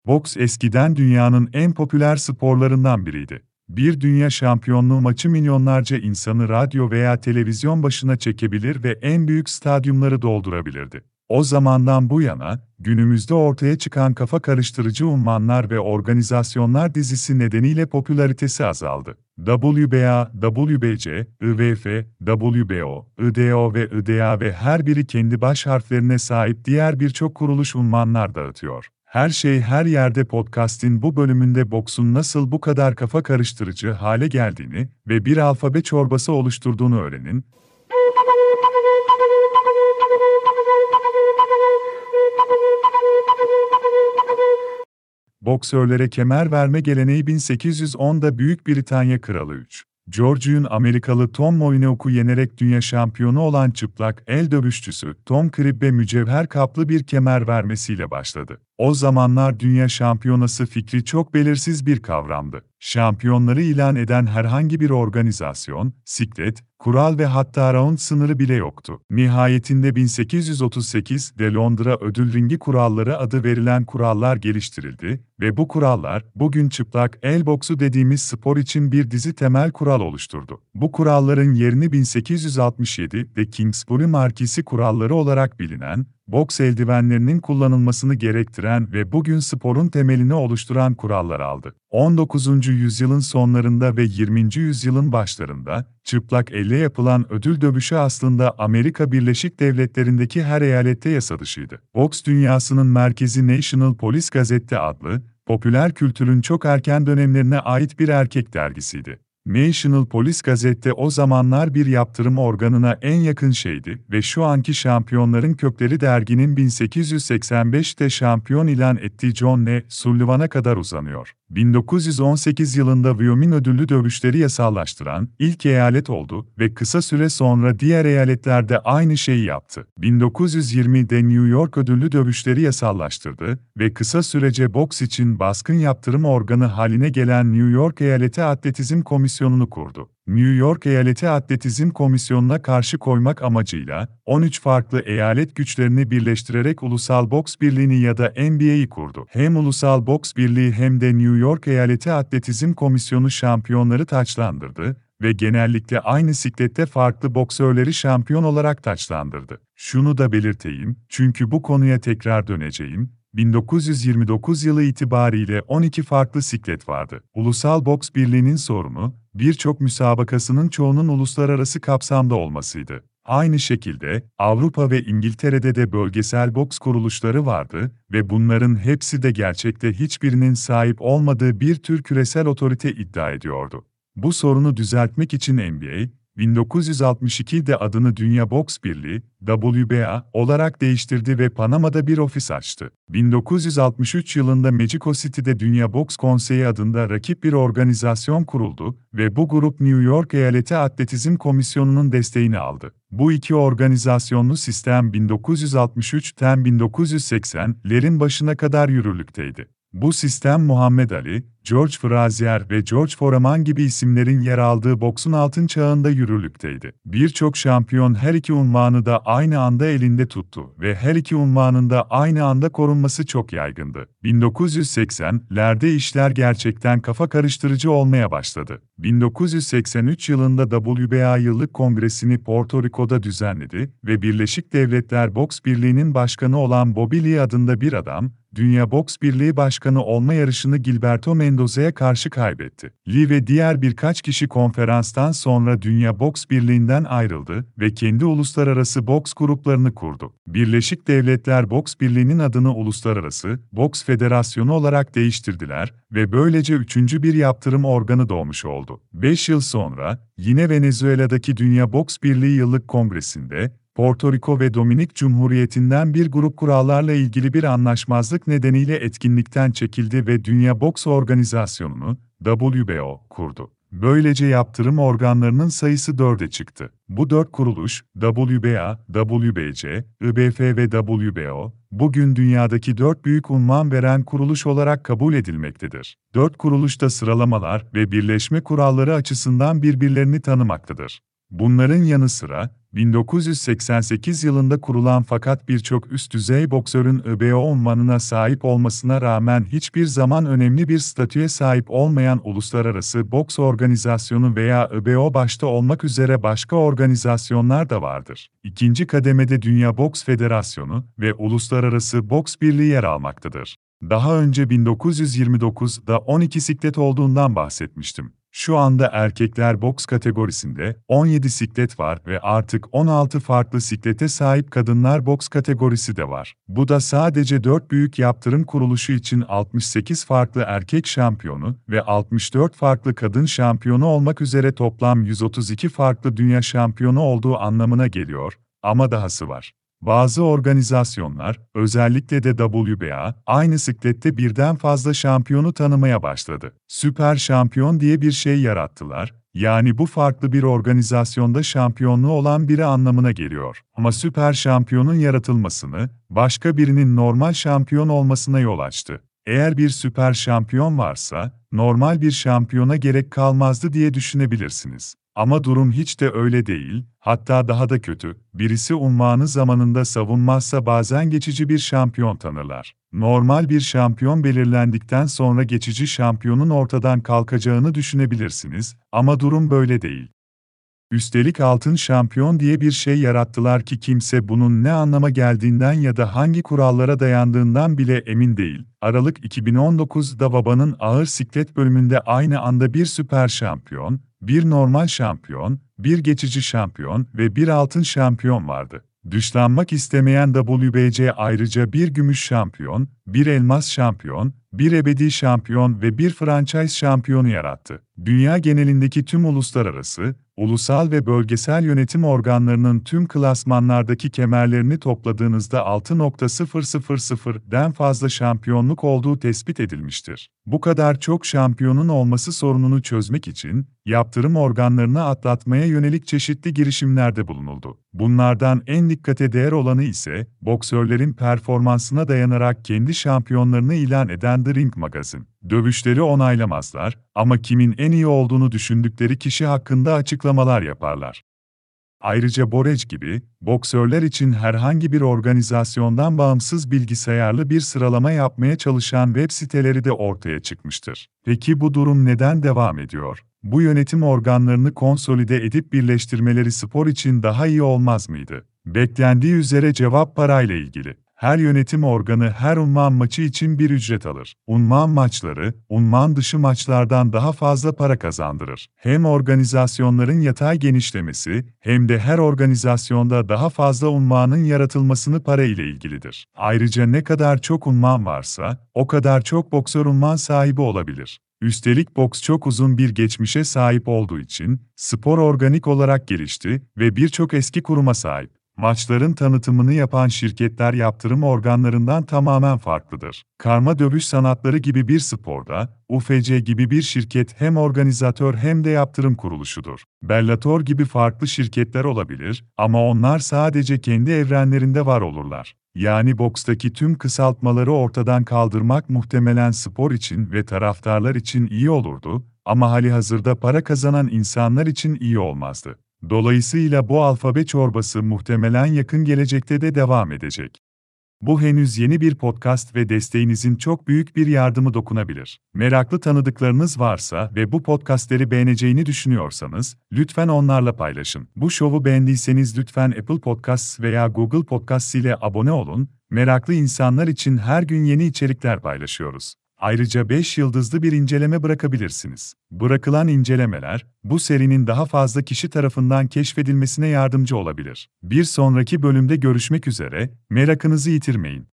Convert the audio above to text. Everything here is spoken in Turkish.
Boks eskiden dünyanın en popüler sporlarından biriydi. Bir dünya şampiyonluğu maçı milyonlarca insanı radyo veya televizyon başına çekebilir ve en büyük stadyumları doldurabilirdi. O zamandan bu yana, günümüzde ortaya çıkan kafa karıştırıcı unvanlar ve organizasyonlar dizisi nedeniyle popülaritesi azaldı. WBA, WBC, IWF, WBO, IDO ve IDA ve her biri kendi baş harflerine sahip diğer birçok kuruluş unvanlar dağıtıyor. Her şey her yerde podcast'in bu bölümünde boksun nasıl bu kadar kafa karıştırıcı hale geldiğini ve bir alfabe çorbası oluşturduğunu öğrenin. Boksörlere kemer verme geleneği 1810'da Büyük Britanya Kralı 3. George'un Amerikalı Tom Moyneau'yu yenerek dünya şampiyonu olan çıplak el dövüşçüsü Tom Cribb'e mücevher kaplı bir kemer vermesiyle başladı. O zamanlar dünya şampiyonası fikri çok belirsiz bir kavramdı. Şampiyonları ilan eden herhangi bir organizasyon, siklet, kural ve hatta round sınırı bile yoktu. Nihayetinde 1838'de Londra Ödül Ringi Kuralları adı verilen kurallar geliştirildi ve bu kurallar, bugün çıplak el boksu dediğimiz spor için bir dizi temel kural oluşturdu. Bu kuralların yerini 1867'de Kingsbury Markisi kuralları olarak bilinen, boks eldivenlerinin kullanılmasını gerektiren ve bugün sporun temelini oluşturan kurallar aldı. 19. yüzyılın sonlarında ve 20. yüzyılın başlarında, çıplak elle yapılan ödül dövüşü aslında Amerika Birleşik Devletleri'ndeki her eyalette yasa dışıydı. Boks dünyasının merkezi National Police Gazette adlı, popüler kültürün çok erken dönemlerine ait bir erkek dergisiydi. National Police Gazette o zamanlar bir yaptırım organına en yakın şeydi ve şu anki şampiyonların kökleri derginin 1885'te şampiyon ilan ettiği John L. Sullivan'a kadar uzanıyor. 1918 yılında Wyoming ödüllü dövüşleri yasallaştıran ilk eyalet oldu ve kısa süre sonra diğer eyaletlerde aynı şeyi yaptı. 1920'de New York ödüllü dövüşleri yasallaştırdı ve kısa sürece boks için baskın yaptırım organı haline gelen New York Eyaleti Atletizm Komisyonu'nu kurdu. New York Eyaleti Atletizm Komisyonu'na karşı koymak amacıyla 13 farklı eyalet güçlerini birleştirerek Ulusal Boks Birliği'ni ya da NBA'yi kurdu. Hem Ulusal Boks Birliği hem de New York Eyaleti Atletizm Komisyonu şampiyonları taçlandırdı ve genellikle aynı siklette farklı boksörleri şampiyon olarak taçlandırdı. Şunu da belirteyim, çünkü bu konuya tekrar döneceğim. 1929 yılı itibariyle 12 farklı siklet vardı. Ulusal Boks Birliği'nin sorunu, birçok müsabakasının çoğunun uluslararası kapsamda olmasıydı. Aynı şekilde, Avrupa ve İngiltere'de de bölgesel boks kuruluşları vardı ve bunların hepsi de gerçekte hiçbirinin sahip olmadığı bir tür küresel otorite iddia ediyordu. Bu sorunu düzeltmek için NBA, 1962'de adını Dünya Boks Birliği, WBA olarak değiştirdi ve Panama'da bir ofis açtı. 1963 yılında Mexico City'de Dünya Boks Konseyi adında rakip bir organizasyon kuruldu ve bu grup New York Eyaleti Atletizm Komisyonu'nun desteğini aldı. Bu iki organizasyonlu sistem 1963'ten 1980'lerin başına kadar yürürlükteydi. Bu sistem Muhammed Ali, George Frazier ve George Foreman gibi isimlerin yer aldığı boksun altın çağında yürürlükteydi. Birçok şampiyon her iki unvanı da aynı anda elinde tuttu ve her iki unvanın da aynı anda korunması çok yaygındı. 1980'lerde işler gerçekten kafa karıştırıcı olmaya başladı. 1983 yılında WBA Yıllık Kongresini Porto Rico'da düzenledi ve Birleşik Devletler Boks Birliği'nin başkanı olan Bobby Lee adında bir adam, Dünya Boks Birliği Başkanı olma yarışını Gilberto Mendoza'ya karşı kaybetti. Lee ve diğer birkaç kişi konferanstan sonra Dünya Boks Birliği'nden ayrıldı ve kendi uluslararası boks gruplarını kurdu. Birleşik Devletler Boks Birliği'nin adını Uluslararası Boks Federasyonu olarak değiştirdiler ve böylece üçüncü bir yaptırım organı doğmuş oldu. 5 yıl sonra, yine Venezuela'daki Dünya Boks Birliği Yıllık Kongresi'nde, Porto Rico ve Dominik Cumhuriyeti'nden bir grup kurallarla ilgili bir anlaşmazlık nedeniyle etkinlikten çekildi ve Dünya Boks Organizasyonu'nu, WBO, kurdu. Böylece yaptırım organlarının sayısı 4'e çıktı. Bu 4 kuruluş, WBA, WBC, IBF ve WBO, bugün dünyadaki 4 büyük unvan veren kuruluş olarak kabul edilmektedir. 4 kuruluş da sıralamalar ve birleşme kuralları açısından birbirlerini tanımaktadır. Bunların yanı sıra, 1988 yılında kurulan fakat birçok üst düzey boksörün ÖBO unvanına sahip olmasına rağmen hiçbir zaman önemli bir statüye sahip olmayan Uluslararası Boks Organizasyonu veya ÖBO başta olmak üzere başka organizasyonlar da vardır. İkinci kademede Dünya Boks Federasyonu ve Uluslararası Boks Birliği yer almaktadır. Daha önce 1929'da 12 siklet olduğundan bahsetmiştim. Şu anda erkekler boks kategorisinde 17 siklet var ve artık 16 farklı siklete sahip kadınlar boks kategorisi de var. Bu da sadece 4 büyük yaptırım kuruluşu için 68 farklı erkek şampiyonu ve 64 farklı kadın şampiyonu olmak üzere toplam 132 farklı dünya şampiyonu olduğu anlamına geliyor. Ama dahası var. Bazı organizasyonlar, özellikle de WBA, aynı siklette birden fazla şampiyonu tanımaya başladı. Süper şampiyon diye bir şey yarattılar, yani bu farklı bir organizasyonda şampiyonluğu olan biri anlamına geliyor. Ama süper şampiyonun yaratılmasını, başka birinin normal şampiyon olmasına yol açtı. Eğer bir süper şampiyon varsa, normal bir şampiyona gerek kalmazdı diye düşünebilirsiniz. Ama durum hiç de öyle değil, hatta daha da kötü, birisi unvanı zamanında savunmazsa bazen geçici bir şampiyon tanırlar. Normal bir şampiyon belirlendikten sonra geçici şampiyonun ortadan kalkacağını düşünebilirsiniz, ama durum böyle değil. Üstelik altın şampiyon diye bir şey yarattılar ki kimse bunun ne anlama geldiğinden ya da hangi kurallara dayandığından bile emin değil. Aralık 2019'da WBA'nın ağır siklet bölümünde aynı anda bir süper şampiyon, bir normal şampiyon, bir geçici şampiyon ve bir altın şampiyon vardı. Dışlanmak istemeyen WBC ayrıca bir gümüş şampiyon, bir elmas şampiyon, bir ebedi şampiyon ve bir franchise şampiyonu yarattı. Dünya genelindeki tüm uluslararası, ulusal ve bölgesel yönetim organlarının tüm klasmanlardaki kemerlerini topladığınızda 6.000'den fazla şampiyonluk olduğu tespit edilmiştir. Bu kadar çok şampiyonun olması sorununu çözmek için, yaptırım organlarını atlatmaya yönelik çeşitli girişimlerde bulunuldu. Bunlardan en dikkate değer olanı ise, boksörlerin performansına dayanarak kendi şampiyonlarını ilan eden The Ring Magazine. Dövüşleri onaylamazlar ama kimin en iyi olduğunu düşündükleri kişi hakkında açıklamalar yaparlar. Ayrıca Borec gibi, boksörler için herhangi bir organizasyondan bağımsız bilgisayarlı bir sıralama yapmaya çalışan web siteleri de ortaya çıkmıştır. Peki bu durum neden devam ediyor? Bu yönetim organlarını konsolide edip birleştirmeleri spor için daha iyi olmaz mıydı? Beklendiği üzere cevap parayla ilgili. Her yönetim organı her unvan maçı için bir ücret alır. Unvan maçları, unvan dışı maçlardan daha fazla para kazandırır. Hem organizasyonların yatay genişlemesi, hem de her organizasyonda daha fazla unvanın yaratılmasını para ile ilgilidir. Ayrıca ne kadar çok unvan varsa, o kadar çok boksör unvan sahibi olabilir. Üstelik boks çok uzun bir geçmişe sahip olduğu için, spor organik olarak gelişti ve birçok eski kuruma sahip. Maçların tanıtımını yapan şirketler yaptırım organlarından tamamen farklıdır. Karma dövüş sanatları gibi bir sporda, UFC gibi bir şirket hem organizatör hem de yaptırım kuruluşudur. Bellator gibi farklı şirketler olabilir ama onlar sadece kendi evrenlerinde var olurlar. Yani bokstaki tüm kısaltmaları ortadan kaldırmak muhtemelen spor için ve taraftarlar için iyi olurdu ama halihazırda para kazanan insanlar için iyi olmazdı. Dolayısıyla bu alfabe çorbası muhtemelen yakın gelecekte de devam edecek. Bu henüz yeni bir podcast ve desteğinizin çok büyük bir yardımı dokunabilir. Meraklı tanıdıklarınız varsa ve bu podcastleri beğeneceğini düşünüyorsanız, lütfen onlarla paylaşın. Bu şovu beğendiyseniz lütfen Apple Podcasts veya Google Podcasts ile abone olun. Meraklı insanlar için her gün yeni içerikler paylaşıyoruz. Ayrıca 5 yıldızlı bir inceleme bırakabilirsiniz. Bırakılan incelemeler, bu serinin daha fazla kişi tarafından keşfedilmesine yardımcı olabilir. Bir sonraki bölümde görüşmek üzere, merakınızı yitirmeyin.